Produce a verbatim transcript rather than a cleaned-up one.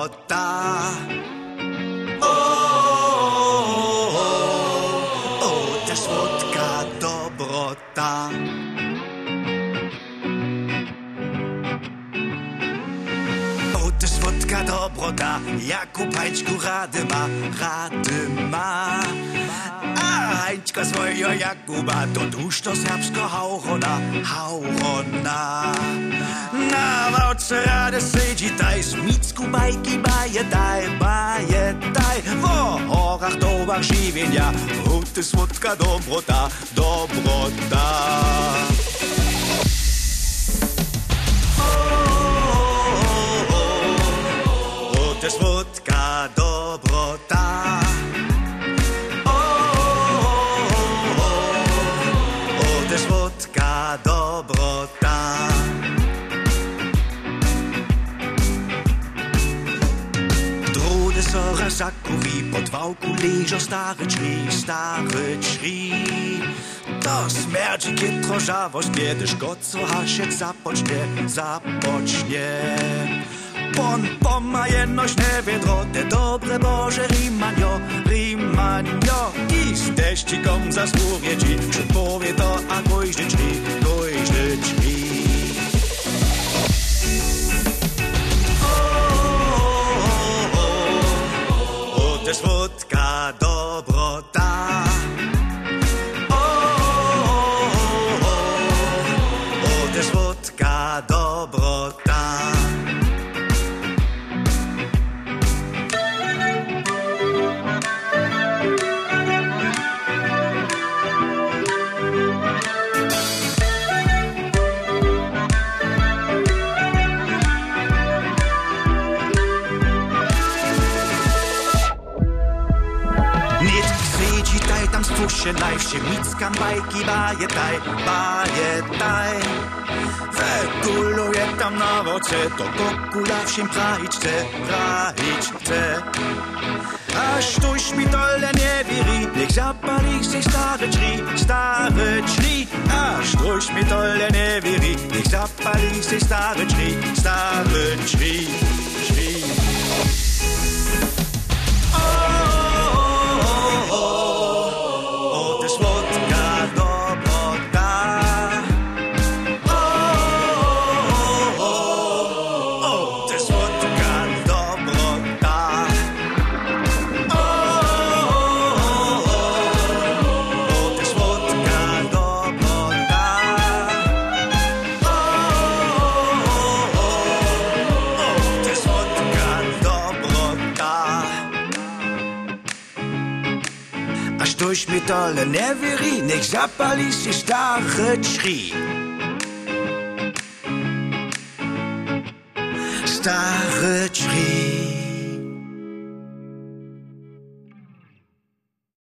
dobrota. O, o, o, o, to słodka dobrota. O, to słodka dobrota, jaką pańczku rady ma, rady ma. A hańczka swojo Jakuba, to dusz to serbsko haurona, haurona. Na wałce rady sydzi taj, smicku bajki baje daj, baje daj. W horach dołach żywienia, o, to słodka dobrota, dobrota. To słodka dobrota. O, o, o, o, to słodka dobrota. Drude sora zakuwi, pod wałku leżą stare drzwi, stare drzwi. To smerdzi kitro żawość, kiedy szkoco haszeć zapocznie, zapocznie. Pon pomma jednośne wiedro, te dobre Boże Rimanio, Rimanio. I z teścikom za skórę ci, powie to, a gojźdy drzwi, gojźdy drzwi. O, o, o, o, to słodka dobrota. O, o, o, o, to słodka dobrota. Tam stwórz najwsie, mickam bajki, baje taj, baje taj. Wekuluje tam na woce, to kokula wsiem prahić chce, prahić chce. Aż tuż mi dole nie wiri, niech zapali się stare drzwi, stare drzwi. Aż tuż mi dole nie wiri, niech zapali się stare drzwi, stare drzwi, drzwi. Durch mi dole nie wiri, niech zapali się stare drzwi. Stare drzwi.